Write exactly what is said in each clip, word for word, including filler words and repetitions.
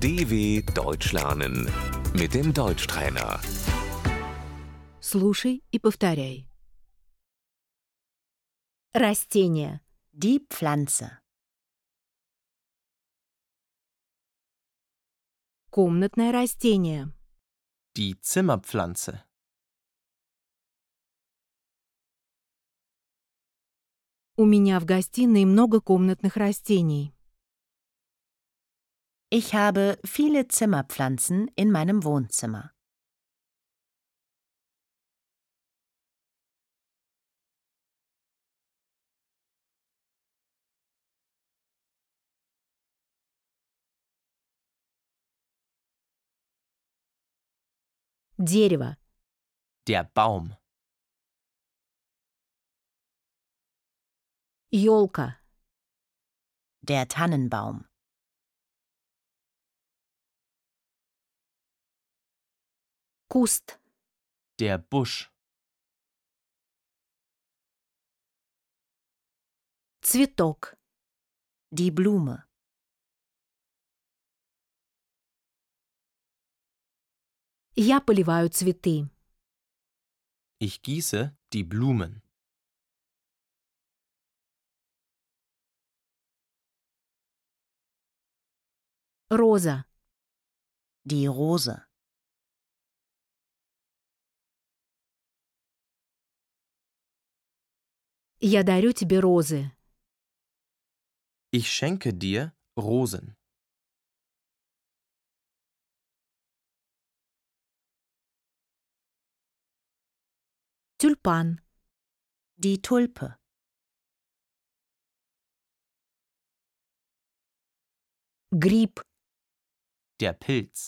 D W Deutsch lernen mit dem Deutschtrainer. Слушай и повторяй. Растение. Die Pflanze. Комнатное растение. Die Zimmerpflanze. У меня в гостиной много комнатных растений. Ich habe viele Zimmerpflanzen in meinem Wohnzimmer. Дерево. Der Baum. Ёлка. Der Tannenbaum. Куст. Der Busch. Цветок. Die Blume. Я поливаю цветы. Ich gieße die Blumen. Роза. Die Rose. Я дарю тебе розы. Ich schenke dir Rosen. Тюльпан. Die Tulpe. Гриб. Der Pilz.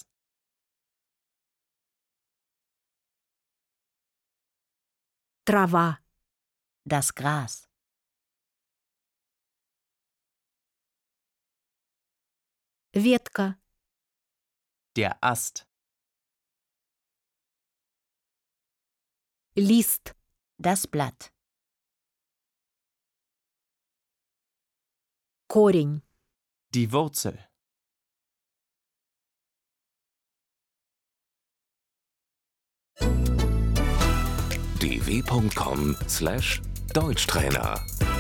Трава. Das Gras. Ветка. Der Ast. Лист. Das Blatt. Корень. Die Wurzel. d w punkt com slash Deutschtrainer